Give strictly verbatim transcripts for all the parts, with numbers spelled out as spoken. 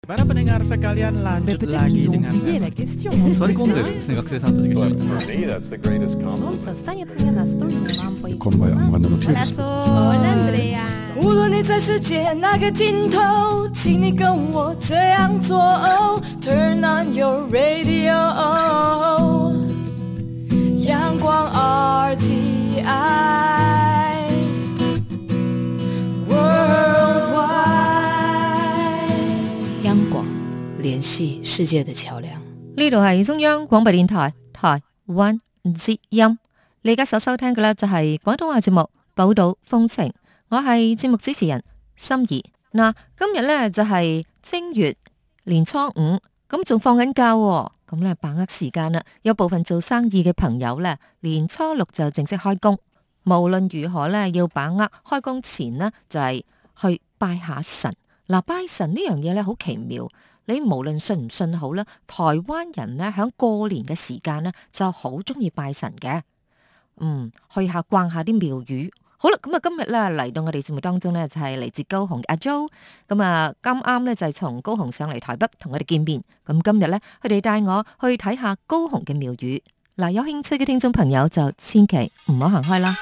Para pendengar sekalian lanjut lagi dengan Sorry,混んでるですね、学生さんたちが一緒に。 Солнце станет мне настольной лампой. こんばんは、Мадам Тюркс. Hola, Andrea. 无论你在世界哪个尽头，请你跟我这样做。Turn on your radio， 阳光 R T I Worldwide， 央广聯繫世界的橋梁。 呢度係中央廣播電台台灣之音，你而家所收聽嘅呢，就係廣東話節目《寶島風情》，我係節目主持人心儀。嗱，今日呢，就係正月年初五，咁仲放緊假喎，咁咧把握時間啦。有部分做生意嘅朋友呢，年初六就正式開工。無論如何呢，要把握開工前呢，就係去拜下神。嗱，拜神呢樣嘢咧好奇妙。你無論信唔信好啦，台灣人咧喺過年嘅時間咧就好中意拜神嘅，嗯，去下逛下啲廟宇。好啦，咁啊今日咧嚟到我哋節目當中咧就係嚟自高雄嘅阿 Jo， 咁啊啱啱咧就係從高雄上嚟台北同我哋見面。咁今日咧佢哋帶我去睇下高雄嘅廟宇。嗱，有興趣嘅聽眾朋友就千祈唔好行開啦。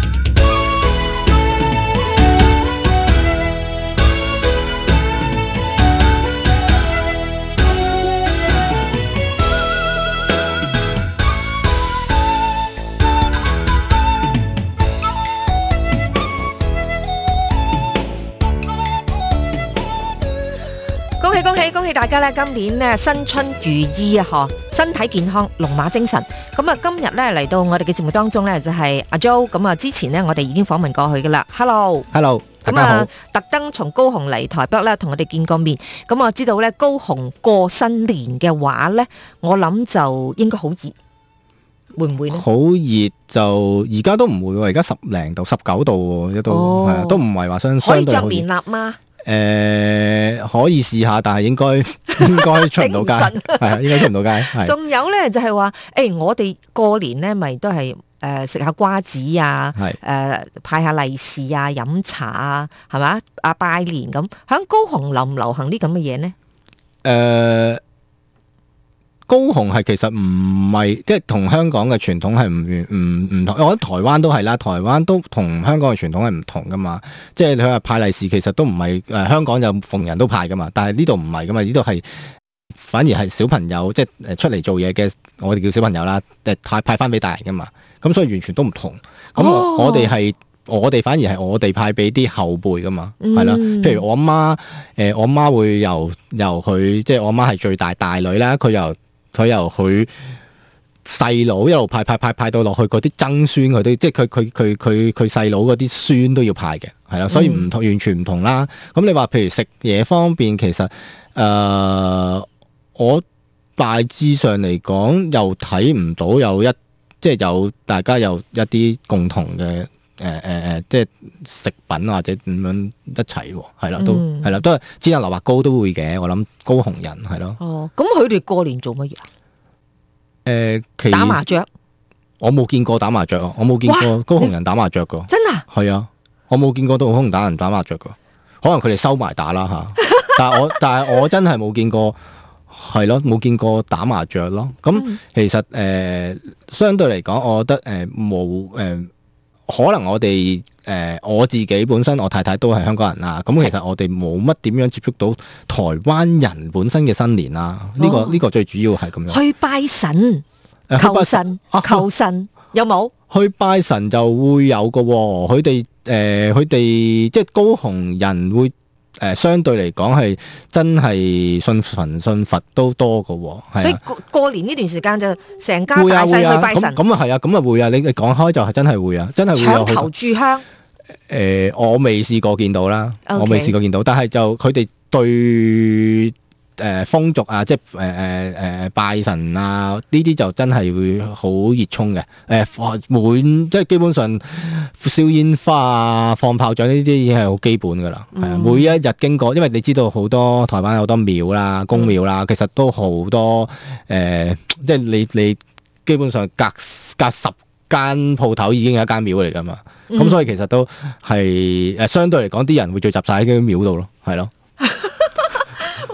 恭喜恭喜恭喜大家咧！今年咧新春如意啊，嗬，身體健康，龍馬精神。咁啊，今日咧嚟到我哋嘅節目當中咧，就係阿 Jo。咁啊，之前咧我哋已經訪問過去噶啦。Hello，Hello， 大家好。 特登從高雄嚟台北咧，同我哋見過面。咁我知道咧，高雄過新年嘅話咧，我諗就應該好熱，會唔會咧？ 好熱就而家都唔會喎，而家十零度、十九度喎，都係啊，都唔係話相相對好熱。 可以着棉衲嗎？ 誒、呃、可以試下，但係應該應該出唔到街，係啊，應該出唔到街。 仲有咧就係話，誒我哋過年咧咪都係誒食下瓜子啊，誒、呃、派下利是啊，飲茶啊，係嘛啊拜年咁。響高雄流唔流行啲咁嘅嘢呢？誒、 呃，高雄係其實唔係即係同香港嘅傳統係唔唔唔同，我覺得台灣都係啦，台灣都同香港嘅傳統係唔同噶嘛。即係你話派利是，其實都唔係誒香港就逢人都派噶嘛，但係呢度唔係噶嘛，呢度係反而係小朋友即係誒出嚟做嘢嘅，我哋叫小朋友啦，誒派派翻俾大人噶嘛。咁所以完全都唔同。咁我哋係、哦、我哋反而係我哋派俾啲後輩噶嘛，係啦、嗯。譬如我媽誒、呃，我媽會由由佢即係我媽係最大大女啦，佢由佢由佢細佬一路派派派派到落去嗰啲曾孫佢都，即係佢佢佢佢佢細佬嗰啲孫都要派嘅，係啦，所以唔同、嗯、完全唔同啦。咁你話譬如食嘢方面，其實誒、呃、我大致上嚟講又睇唔到有一即係有大家有一啲共同嘅誒誒誒，即係食品或者點樣一齊喎，係啦，都係啦，都係煎下蘿蔔糕都會嘅。我諗高雄人係咯。 哦，咁佢哋過年做乜嘢啊？ 誒、呃， 打麻雀。 我冇見過打麻雀啊！我冇見過高雄人打麻雀噶。 真啊？ 係啊，我冇見過高雄打人打麻雀噶。可能佢哋收埋打啦吓。但係我但係我真係冇見過，係咯，冇見過打麻雀咯。咁、嗯、其實誒、呃，相對嚟講，我覺得誒冇誒。可能我哋誒、呃、我自己本身我太太都係香港人啦，咁其實我哋冇乜點樣接觸到台灣人本身嘅新年啦。呢、哦這個呢、這個最主要係咁樣。去拜神、求神、啊、求神有冇？去拜神就會有嘅喎，佢哋誒佢哋即係高雄人會。誒、呃，相對嚟講係真係信神信佛都多㗎喎、啊，所以過過年呢段時間就成家大細去拜神。咁啊係啊，咁啊會啊，你你講開就係真係會啊，真係會有。搶頭炷香。誒、呃，我未試過見到啦，okay. 我未試過見到，但係就佢哋對。誒、呃、風俗啊，即係誒誒誒拜神啊，呢啲就真係會好熱衷嘅。誒、呃、每即係基本上燒煙花啊、放炮仗呢啲已經係好基本㗎啦。係啊、嗯，每一日經過，因為你知道好多台灣有好多廟啦、宮廟啦，其實都好多誒、呃，即係你你基本上隔隔十間鋪頭已經有一間廟嚟㗎嘛。咁、嗯、所以其實都係誒相對嚟講，啲人會聚集晒喺啲廟度咯，係咯。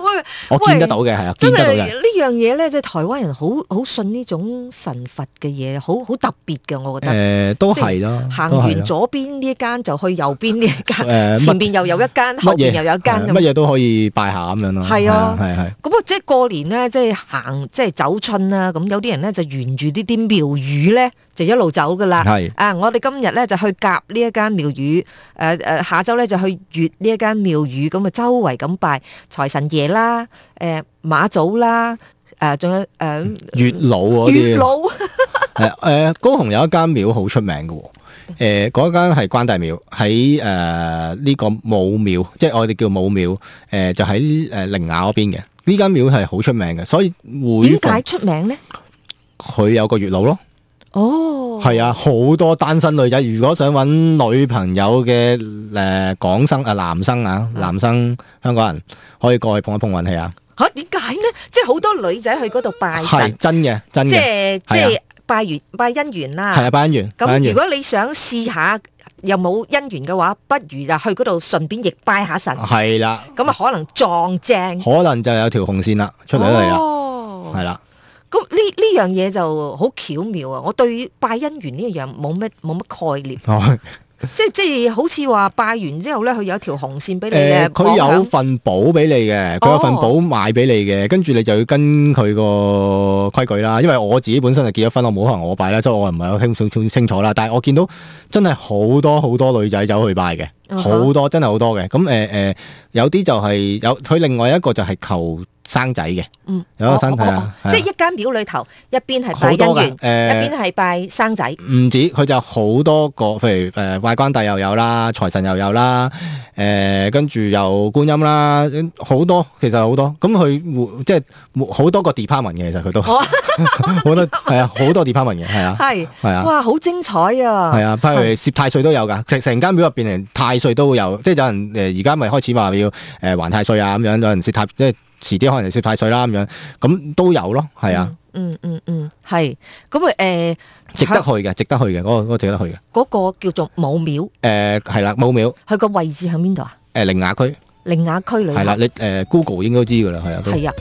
我見得到嘅係啊， 真係見得到嘅。 呢樣嘢咧，即係台灣人好好信呢種神佛嘅嘢，好好特別嘅，我覺得。 誒、呃，都係啦， 行都係啦完左邊呢一間就去右邊呢一間， 誒前邊又有一間，後邊又有一間咁。 乜嘢都可以拜下咁樣咯。 係啊係係。 咁啊，即係過年咧，即係行即係走春啦。咁有啲人咧就沿住呢啲廟宇咧，就一路走噶啦。 係啊，我哋今日咧就去甲呢一間廟宇，誒誒，下晝咧就去乙呢一間廟宇，咁啊周圍咁拜財神爺啦，誒媽祖啦，誒仲有誒月老嗰啲。 月老。 係誒，高雄有一間廟好出名嘅喎。誒嗰間係關帝廟，喺誒呢個武廟，即係我哋叫武廟。誒就喺誒陵雅嗰邊嘅。呢間廟係好出名嘅，所以會點解出名咧？ 佢有個月老咯。 哦， 係啊，好多單身女仔，如果想揾女朋友嘅誒港生啊男生啊男生香港人，可以過去碰一碰運氣啊！ 嚇點解咧？即係好多女仔去嗰度拜係神， 真嘅，真即嘅， 係即係拜緣拜姻緣啦。 係啊，拜姻緣。拜姻緣咁如果你想試下又冇姻緣嘅話，不如就去嗰度順便亦拜下神。 係啦， 咁啊可能撞正， 可能就有條紅線啦，出嚟嚟啦， 哦， 係啦。 咁呢呢樣嘢就好巧妙啊！我對拜姻緣呢樣冇乜冇乜概念， 哦即係即係好似話拜完之後咧，佢有條紅線俾你誒， 咧， 佢有份簿俾你嘅，佢有份簿買俾你嘅，跟住你就要跟佢個規矩啦。因為我自己本身就結咗婚，我冇可能我拜啦，所以我唔係好清清清楚啦。但係我見到真係好多好多女仔走去拜嘅，好多真係好多嘅。咁誒誒，有啲就係有佢另外一個就係求生仔嘅， 嗯， 有一個生仔啊， 即係一間廟裏頭，一邊係拜好多㗎姻緣，一誒邊係拜生仔。 唔止，佢就好多個，譬如誒拜關帝又有啦，財神又有啦，誒跟住又觀音啦，好多其實好多。咁佢即係好多個 department 嘅，其實佢都好多係啊，好多 department 嘅，係啊， 係係啊， 哇，好精彩啊！ 係啊，譬如攝太歲都有㗎，成成間廟入邊連太歲都會有，即係有人誒而家咪開始話要誒還太歲啊咁樣，有人攝太即係。遲啲可能攝太歲啦咁樣，咁都有咯，係啊， 嗯嗯嗯，係咁啊誒， 值得去嘅，值得去嘅，嗰個嗰個值得去嘅， 嗰個叫做武廟， 誒係啦，武廟， 佢個位置喺邊度啊？ 誒陵雅區， 陵雅區裏係啦，你誒 Google 應該都知㗎啦，係啊，都係啊。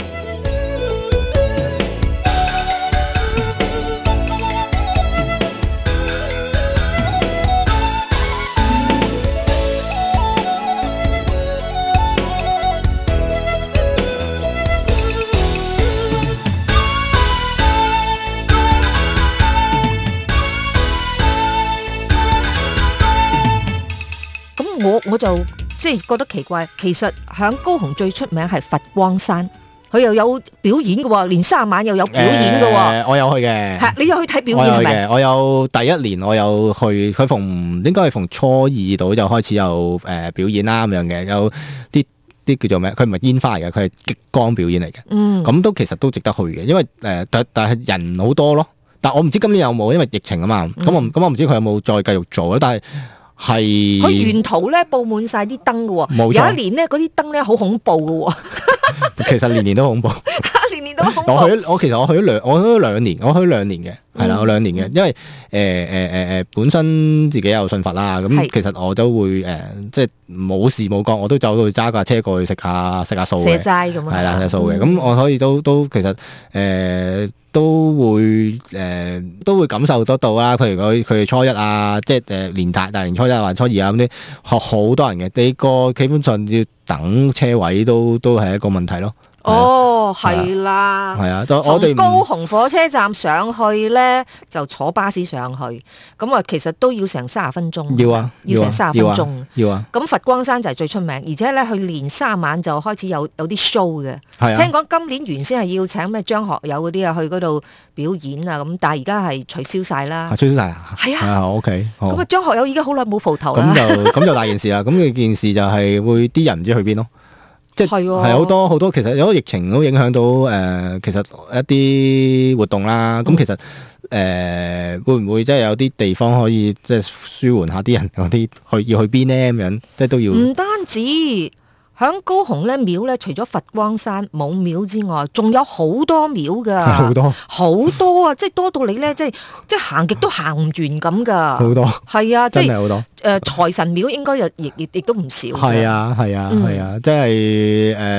我我就即係覺得奇怪，其實響高雄最出名係佛光山，佢又有表演嘅喎，年卅晚又有表演嘅喎、 呃。我有去嘅， 係你有去睇表演係咪？ 我有第一年我有去，佢逢應該係逢初二度就開始有誒、呃、表演啦咁樣嘅，有啲啲叫做咩？佢唔係煙花嚟嘅，佢係激光表演嚟嘅。 嗯， 咁都其實都值得去嘅，因為誒、呃、但但係人好多咯。但我唔知今年有冇，因為疫情啊嘛。咁、嗯、我咁我唔知佢有冇再繼續做啦。但係係佢沿途咧佈滿晒啲燈嘅喎，有一年咧嗰啲燈咧好恐怖嘅喎。 其實年年都恐怖， 年年都恐怖。 我去我其實我去咗兩我去咗兩年，我去咗兩年嘅，係啦、嗯，我兩年嘅，因為誒誒誒誒本身自己有信佛啦，咁其實我都會誒、呃、即係冇事冇幹，我都走去揸架車過去食下食下素嘅， 食齋咁啊， 係啦食素嘅，咁、嗯、我可以都都其實誒。呃都會誒、呃、都會感受得到啦，譬如佢佢初一啊，即係誒年大大年初一或初二啊咁啲，學好多人嘅，你個基本上要等車位都都係一個問題咯。 哦，係啦， 係啊，我哋從高雄火車站上去咧，就坐巴士上去，咁啊，其實都要成三十分鐘。 要啊， 要成三十分鐘。 要啊。 咁佛光山就係最出名，而且咧，佢年三晚就開始有有啲 show 嘅。 係啊。 聽講今年原先係要請咩張學友嗰啲啊去嗰度表演啊，咁但係而家係取消晒啦。 取消晒啊？ 係啊。 啊 OK。 咁啊，張學友已經好耐冇蒲頭咁啦。 就咁就大件事啦。咁嘅件事就係會啲人唔知去邊咯。即係係好多好多，其實有個疫情都影響到誒、呃，其實一啲活動啦。咁、嗯、其實誒、呃、會唔會即係有啲地方可以即係舒緩下啲人嗰啲去要去邊呢？咁樣，即係都要。唔單止響高雄咧廟咧，除咗佛光山冇廟之外，仲有好多廟噶， 好多好多啊！即係多到你咧，即係即係行極都行唔完咁噶。 好多係啊， 真係好多。誒、 呃，財神廟應該又亦亦亦都唔少。 係啊，係啊，係、嗯、啊，即係誒、呃，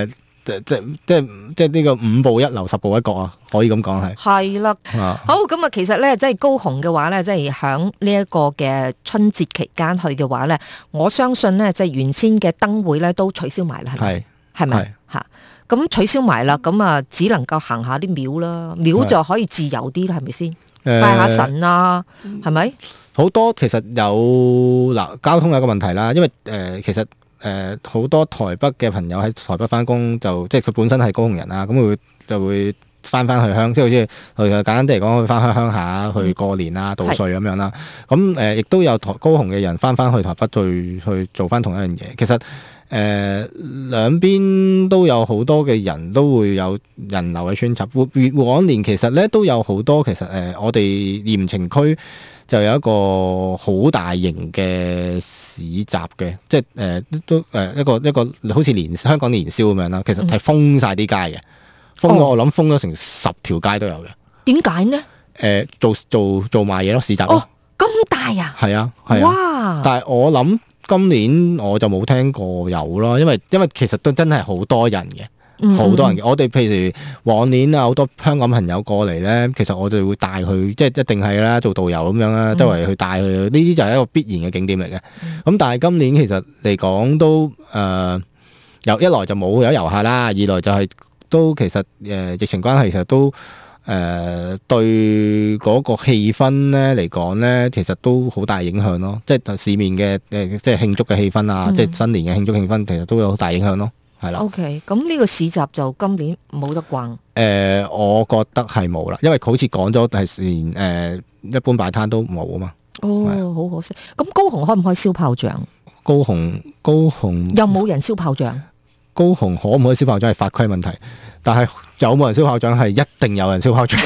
即即即即呢個五步一樓十步一角啊，可以咁講係。 係啦， 啊好咁啊，其實咧，即係高雄嘅話咧，即係響呢一個嘅春節期間去嘅話咧，我相信咧，即係原先嘅燈會咧都取消埋啦，係咪？ 係係咪吓？咁取消埋啦，咁啊，只能夠行下啲廟啦，廟就可以自由啲啦，係咪先？ 誒拜下神啊，係咪？ 好多其實有嗱交通有一個問題啦，因為誒、呃、其實誒好、呃、多台北嘅朋友喺台北翻工，就即係佢本身係高雄人啊，咁佢會就會翻翻去鄉，即係好似誒簡單啲嚟講，去翻去鄉下去過年啊、度歲咁樣啦。咁誒亦都有台高雄嘅人翻翻去台北去去做翻同一樣嘢。其實誒、呃、兩邊都有好多嘅人都會有人流嘅穿插。往年其實咧都有好多其實誒、呃、我哋鹽埕區就有一個好大型嘅市集嘅，即係誒、呃、都誒一個一個好似年香港年宵咁樣啦。其實係封晒啲街嘅，封咗、哦、我諗封咗成十條街都有嘅。點解呢？誒、 呃、做做做賣嘢咯，市集咯。 哦，咁大啊！ 係啊，係啊。哇！但係我諗今年我就冇聽過有咯，因為因為其實都真係好多人嘅。好多人嘅，我哋譬如往年啊，好多香港朋友過嚟咧，其實我就會帶佢，即係一定係啦，做導遊咁樣啦，周圍去帶佢。呢啲就係一個必然嘅景點嚟嘅。咁、嗯、但係今年其實嚟講都誒，有、呃、一來就冇有遊客啦，二來就係、是、都其實誒、呃、疫情關係，其實都誒、呃、對嗰個氣氛咧嚟講咧，其實都好大影響咯。即係市面嘅誒，即係慶祝嘅氣氛啊，嗯、即係新年嘅慶祝氣氛，其實都有好大影響咯。係啦。 OK，咁呢個市集就今年冇得逛。誒、 呃，我覺得係冇啦，因為好似講咗係連誒一般擺攤都冇啊嘛。 哦，好可惜。咁高雄可唔可以燒炮仗？ 高雄高雄又冇人燒炮仗。 高雄可唔可以燒炮仗係法規問題，但係有冇人燒炮仗係一定有人燒炮仗。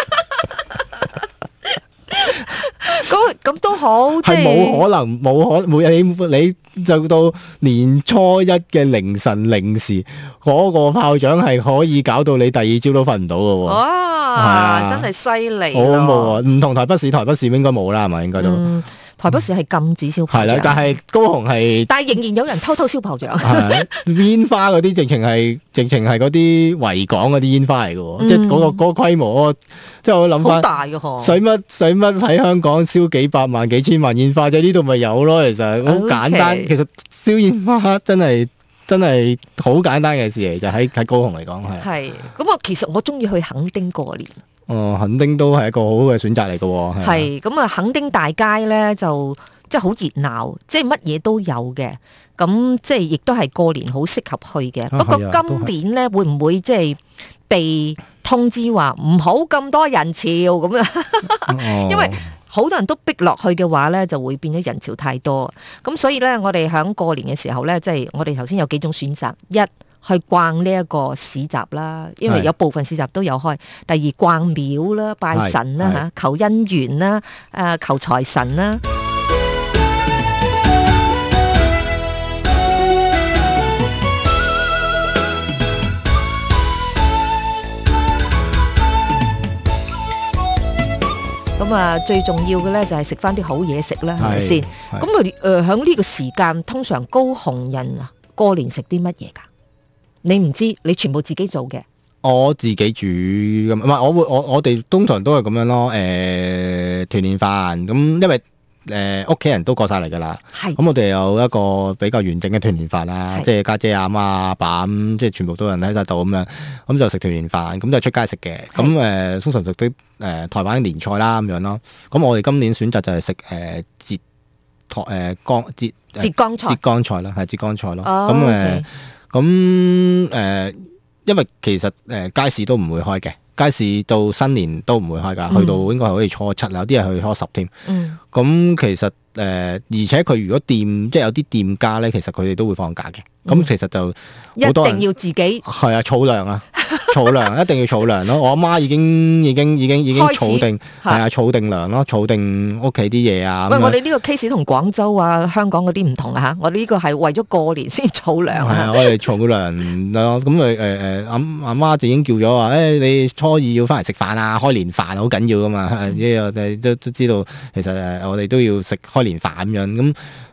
咁都好， 係冇可能，冇可每日你你就到年初一嘅凌晨零時，嗰、那個炮仗係可以搞到你第二朝都瞓唔到嘅喎。哇！ 啊、真係犀利。 好恐怖喎！唔同台北市，台北市應該冇啦，係咪應該都？嗯台北市係禁止燒炮仗， 係啦，但係高雄係， 但係仍然有人偷偷燒炮仗。 煙花嗰啲直情係直情係嗰啲維港嗰啲煙花嚟嘅喎，嗯、即係嗰、嗰個嗰、嗰個規模，即係我諗翻好大嘅嗬。使乜使乜喺香港燒幾百萬幾千萬煙花啫？呢度咪有咯，其實好簡單。Okay. 其實燒煙花真係真係好簡單嘅事嚟，就喺喺高雄嚟講係。係咁啊，其實我中意去墾丁過年。 哦，墾丁都係一個好好嘅選擇嚟嘅喎。 係咁啊，墾丁大街咧就即係好熱鬧，即係乜嘢都有嘅。咁即係亦都係過年好適合去嘅。啊、不過今年咧會唔會即係被通知話唔好咁多人潮咁啊？哦、因為好多人都逼落去嘅話咧，就會變咗人潮太多。咁所以咧，我哋喺過年嘅時候咧，即係我哋頭先有幾種選擇一。去逛呢一個市集啦，因為有部分市集都有開。第二逛廟啦，拜神啦嚇，求姻緣啦，誒求財神啦。咁啊，最重要嘅咧就係食翻啲好嘢食啦，係咪先？咁啊誒，喺呢個時間，通常高雄人啊過年食啲乜嘢㗎？你唔知，你全部自己做嘅。 我自己煮咁，唔係我會我我哋通常都係咁樣咯。誒、呃、團年飯咁，因為誒屋企人都過晒嚟㗎啦。係咁，我哋有一個比較完整嘅團年飯啦，即係家姐阿媽阿爸咁，即係全部都有人喺晒度咁樣，咁就食團年飯，咁就出街食嘅。咁誒、呃、通常食啲誒台灣年菜啦咁樣咯。咁我哋今年選擇就係食誒浙台誒江浙浙江菜，浙江菜啦，係浙江菜咯。咁誒、哦。咁誒、呃，因為其實誒、呃、街市都唔會開嘅，街市到新年都唔會開㗎，嗯、去到應該係好似初七啦，有啲係去初十添。嗯，咁其實誒、呃，而且佢如果店即係有啲店家咧，其實佢哋都會放假嘅。咁、嗯、其實就好多人一定要自己係啊，儲糧啊！儲糧一定要儲糧咯，我阿媽已經已經已經已經儲定係啊，儲定糧咯，儲定屋企啲嘢啊。 喂，我哋呢個 case 同廣州啊、香港嗰啲唔同啊嚇，我哋呢個係為咗過年先儲糧啊。係啊， 我哋儲糧咯，咁誒誒誒，阿阿媽就已經叫咗話，誒、欸、你初二要翻嚟食飯啊，開年飯好緊要噶嘛，因為我哋都都知道，其實誒我哋都要食開年飯咁樣咁。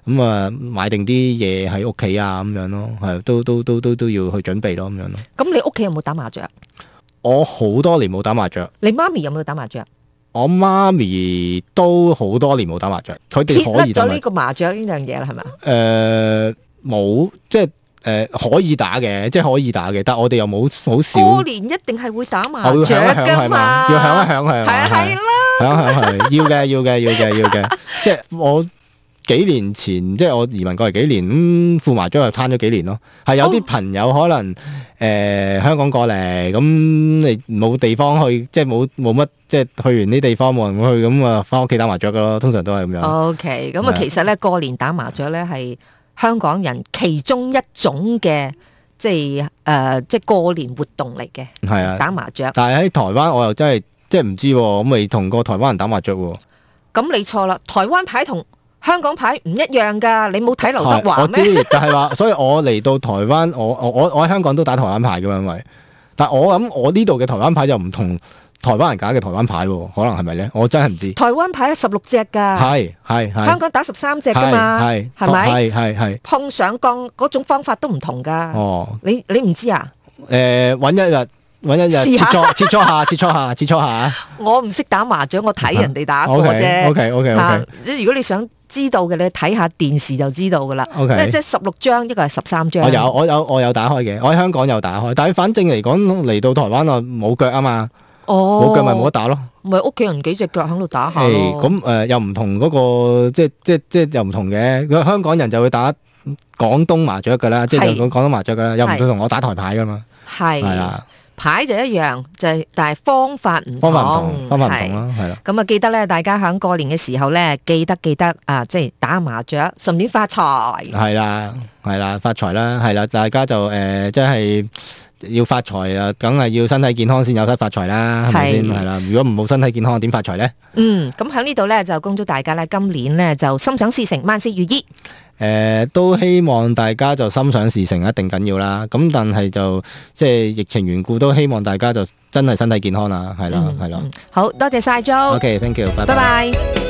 咁啊買定啲嘢喺屋企啊咁樣咯，係都都都都都要去準備咯咁樣咯。 咁你屋企有冇打麻雀？ 我好多年冇打麻雀。 你媽咪有冇打麻雀？ 我媽咪都好多年冇打麻雀，佢哋可以打麻雀。 撇甩咗呢個麻雀呢樣嘢啦，係咪？ 誒冇、呃，即係誒、呃、可以打嘅，即係可以打嘅，但係我哋又冇好少。 過年一定係會打麻雀㗎嘛， 要響一響係嘛？ 係啦， 響一響係要嘅，要嘅，要嘅，要嘅。即係我幾年前，即係我移民過嚟幾年，咁副麻雀又攤咗幾年咯。係有啲朋友可能誒、呃、香港過嚟，咁你冇地方去，即係冇冇乜。即係去完啲地方冇人去，咁啊翻屋企打麻雀噶咯，通常都係咁樣。 O K， 咁啊其實咧過年打麻雀咧係香港人其中一種嘅即係誒、呃、即係過年活動嚟嘅。係啊，打麻雀。但係喺台灣我又真係即係唔知喎，我未同過台灣人打麻雀喎。 咁你錯啦，台灣牌同香港牌唔一樣㗎，你冇睇劉德華咩？ 我知，就係話，所以我嚟到台灣，我我我我喺香港都打台灣牌㗎嘛，因為，但係我諗我呢度嘅台灣牌就唔同。台灣人打嘅台灣牌喎，可能係咪咧？我真係唔知。 台灣牌十六隻㗎， 係係係。 香港打十三隻㗎嘛，係係咪？係係係。碰上鋼嗰種方法都唔同㗎。哦，你你唔知啊？ 誒，揾一日揾一日切磋切磋下切磋下切磋下。 我唔識打麻雀，我睇人哋打過啫。 OK OK OK。 即係如果你想知道嘅，你睇下電視就知道㗎啦。 OK。 即係十六張，一個係十三張。 我有我有我有打開嘅，我喺香港有打開，但係反正嚟講嚟到台灣啊冇腳啊嘛。 哦， 冇腳咪冇得打咯， 咪屋企人幾隻腳喺度打下咯。 咁誒、呃、又唔同嗰、那個，即係即係即係又唔同嘅。香港人就會打廣東麻雀噶啦，即係講廣東麻雀噶啦，又唔會同我打台牌噶嘛。係係啊，牌就一樣，就係但係方法唔同，方法唔同，方法唔同啦，係啦。咁啊，記得咧，大家喺過年嘅時候咧，記得記得啊，即係打麻雀，順便發財。係啦，係啦，發財啦，係啦，大家就誒，即係。要發財啊，梗係要身體健康先有得發財啦，係咪先？係啦，如果唔冇身體健康，點發財呢？嗯，咁喺呢度呢，就恭祝大家呢，今年呢，就心想事成，萬事如意。誒、呃，都希望大家就心想事成一定緊要啦。咁但係就即係疫情緣故，都希望大家就真係身體健康啦，係啦，係啦、嗯。好多謝晒 Jo。OK，thank you，拜拜。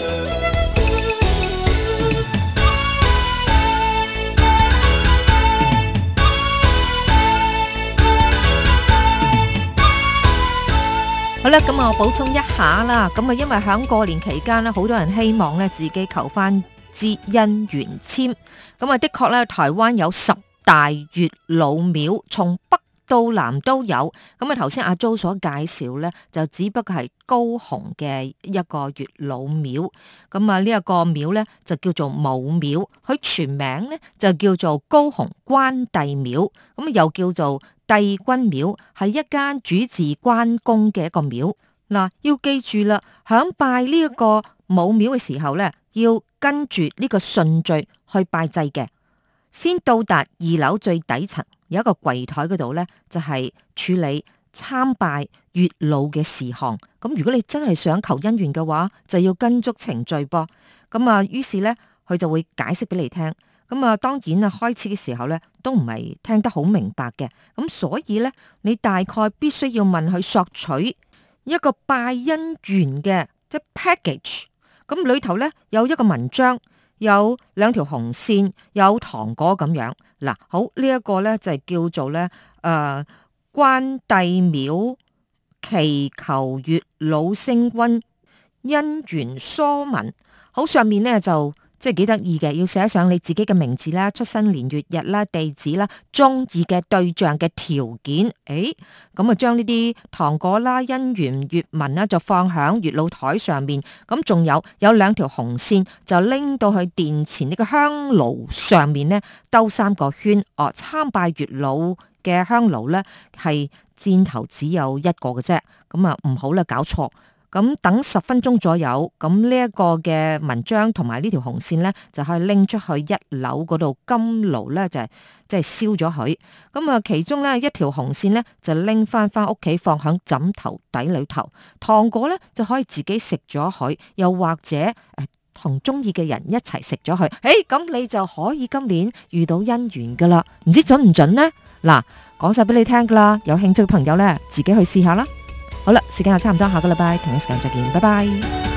好啦，咁啊，我補充一下啦。咁啊，因為喺過年期間咧，好多人希望咧自己求翻支姻緣簽。咁啊，的確咧，台灣有十大月老廟，從北到南都有。咁啊，頭先阿 Jo 所介紹咧，就只不過係高雄嘅一個月老廟。咁啊，呢一個廟咧就叫做武廟，佢全名咧就叫做高雄關帝廟。咁啊，又叫做帝君廟，係一間主治關公嘅一個廟。嗱，要記住啦，響拜呢一個武廟嘅時候咧，要跟住呢個順序去拜祭嘅。先到達二樓最底層，有一個櫃台嗰度咧，就係處理參拜月老嘅事項。咁如果你真係想求姻緣嘅話，就要跟足程序噃。咁啊，於是咧，佢就會解釋俾你聽。咁啊，當然啊，開始嘅時候咧，都唔係聽得好明白嘅。咁所以咧，你大概必須要問佢索取一個拜姻緣嘅即係 package。咁裏頭咧有一個文章，有兩條紅線，有糖果咁樣。嗱，好，呢一個咧就係叫做咧誒關帝廟祈求月老星君姻緣疏文。好，上面咧就。即係幾得意嘅，要寫上你自己嘅名字啦、出生年月日啦、地址啦、中意嘅對象嘅條件。誒，咁啊將呢啲糖果啦、姻緣月文啦，就放響月老台上面。咁仲有有兩條紅線，就拎到去殿前呢個香爐上面呢，兜三個圈。哦，參拜月老嘅香爐呢，係箭頭只有一個嘅啫。咁啊唔好啦，搞錯。咁等十分鐘左右，咁呢一個嘅文章同埋呢條紅線咧，就可以拎出去一樓嗰度金爐咧，就係即係燒咗佢。咁啊，其中咧一條紅線咧就拎翻翻屋企放響枕頭底裏頭，糖果咧就可以自己食咗佢，又或者誒同中意嘅人一齊食咗佢。誒、欸，咁你就可以今年遇到姻緣噶啦，唔知準唔準呢？嗱，講晒俾你聽噶啦，有興趣嘅朋友咧，自己去試下啦。好啦，時間又差唔多，下個禮拜同一時間再見，拜拜。